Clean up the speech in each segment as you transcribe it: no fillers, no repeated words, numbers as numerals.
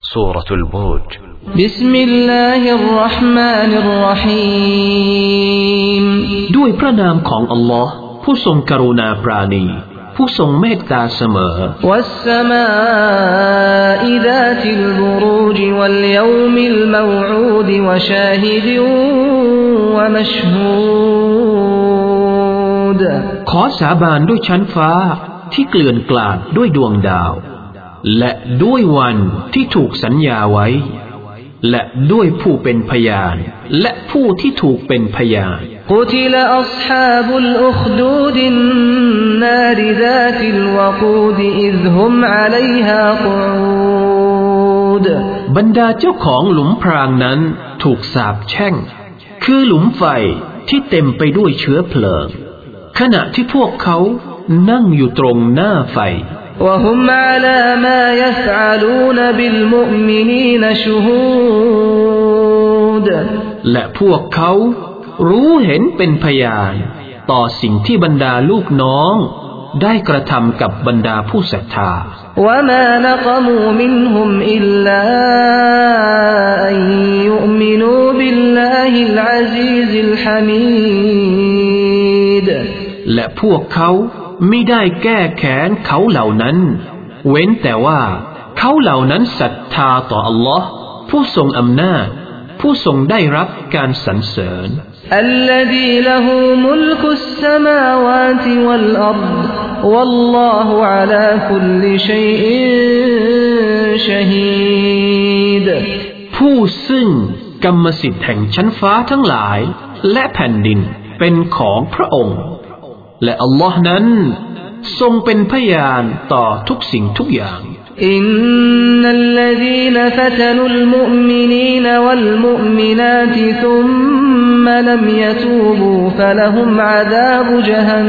سورة البروج بسم الله الرحمن الرحيم ด้วยพระนามของอัลลอฮ์ผู้ทรงกรุณาปราณีผู้ทรงเมตตาเสมอ والسماء ذات البروج واليوم الموعود وشاهد ومشهود ขอสาบานด้วยชั้นฟ้าที่เกลื่อนกลาดด้วยดวงดาวและด้วยวันที่ถูกสัญญาไว้และด้วยผู้เป็นพยานและผู้ที่ถูกเป็นพยาน قتل أصحاب الأخدود النار ذات الوقود إذ هم عليها قعود บรรดาเจ้าของหลุมพรางนั้นถูกสาปแช่งคือหลุมไฟที่เต็มไปด้วยเชื้อเพลิงขณะที่พวกเขานั่งอยู่ตรงหน้าไฟ وهم على ما يفعلون بالمؤمنين شهود และพวกเขารู้เห็นเป็นพยานต่อสิ่งที่บรรดาลูกน้องได้กระทำกับบรรดาผู้ศรัทธา وما نقموا منهم إلا أن يؤمنوا بالله العزيز الحميد และพวกเขามิได้แก้แค้นเขาเหล่านั้นเว้นแต่ว่าเขาเหล่านั้นศรัทธาต่ออัลลอฮ์ผู้ทรงอำนาจผู้ทรงได้รับการสรรเสริญ الذي له ملك السماوات والأرض والله على كل شيء شهيد ผู้ซึ่งกรรมสิทธิ์แห่งชั้นฟ้าทั้งหลายและแผ่นดินเป็นของพระองค์และอัลลอฮ์นั้นทรงเป็นพยานต่อทุกสิ่งทุกอย่างอินนัลลซีนฟะตนุลมุอ์มินีนวัลมุอ์มินาติซุมมะลัมยะตูบูฟะละฮุมอะซาบุญะฮัน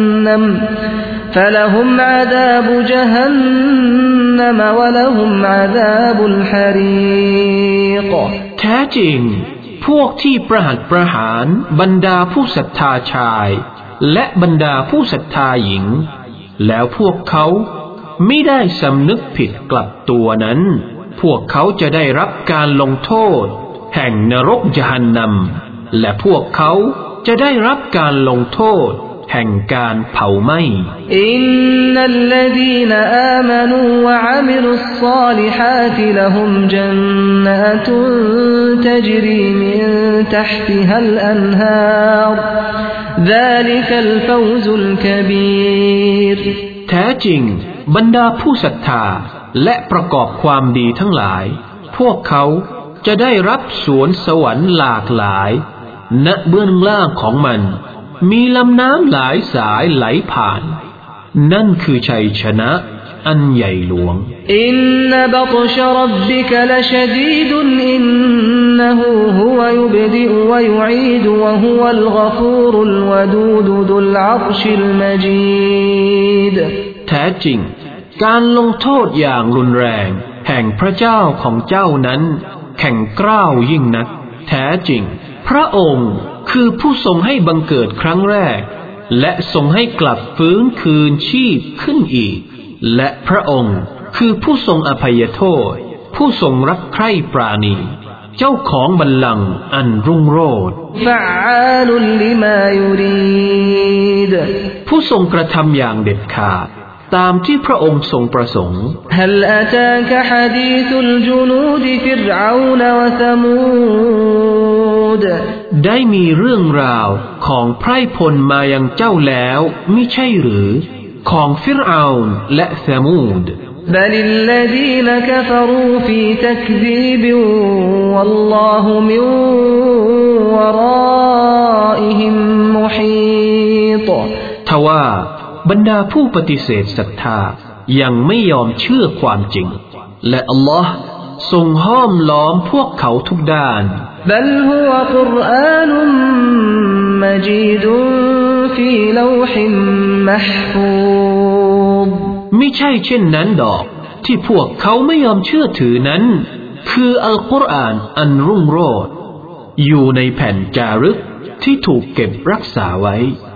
นัมวะละฮุมอะซาบุลฮะรีกแท้จริงพวกที่ประหัตประหารบรรดาผู้ศรัทธาชายและบรรดาผู้ศรัทธาหญิงแล้วพวกเขาไม่ได้สำนึกผิดกลับตัวนั้นพวกเขาจะได้รับการลงโทษแห่งนรกญะฮันนัมและพวกเขาจะได้รับการลงโทษแห่งการเผาไหม้อินนัลลซีนอามานูวะอะมิลุศศอลิฮาติละฮุมญันนาตุนตัจรีมินตัฮติฮัลอันฮาร์ذلك الفوز الكبير แท้จริงบรรดาผู้ศรัทธาและประกอบความดีทั้งหลายพวกเขาจะได้รับสวนสวรรค์หลากหลายณเบื้องล่างของมันมีลำน้ำหลายสายไหลผ่านนั่นคือชัยชนะอันใหญ่หลวงอินนบัตชรับบิกละชดีดอินนะฮูฮุวยุบดิอุวยุอีดวะฮุวัลฆฟูรุลวะดูดดุลอัรชิลมะจีดแท้จริงการลงโทษอย่างรุนแรงแห่งพระเจ้าของเจ้านั้นแข็งกร้าวยิ่งนักแท้จริงพระองค์คือผู้ทรงให้บังเกิดครั้งแรกและทรงให้กลับฟื้นคืนชีพขึ้นอีกและพระองค์คือผู้ทรงอภัยโทษผู้ทรงรักใคร่ปราณีเจ้าของบัลลังก์อันรุ่งโรจน์ผู้ทรงกระทำอย่างเด็ดขาดตามที่พระองค์ทรงประสงค์ฮัลอะตากะฮะดีซุลจุนูดฟิรเอานวะซะมูดได้มีเรื่องราวของไพร่พลมายังเจ้าแล้วมิใช่หรือของฟิรเอานและซะมูด بل الذين كفروا في تكذيب والله من ورائهم محيط ทว่าบรรดาผู้ปฏิเสธศรัทธายังไม่ยอมเชื่อความจริงและอัลลอฮ์ทรงห้อมล้อมพวกเขาทุกด้าน بل هو قرآن مجيد في لوح محفوظ ไม่ใช่เช่นนั้นดอกที่พวกเขาไม่ยอมเชื่อถือนั้นคืออัลกุรอานอันรุ่งโรจน์อยู่ในแผ่นจารึกที่ถูกเก็บรักษาไว้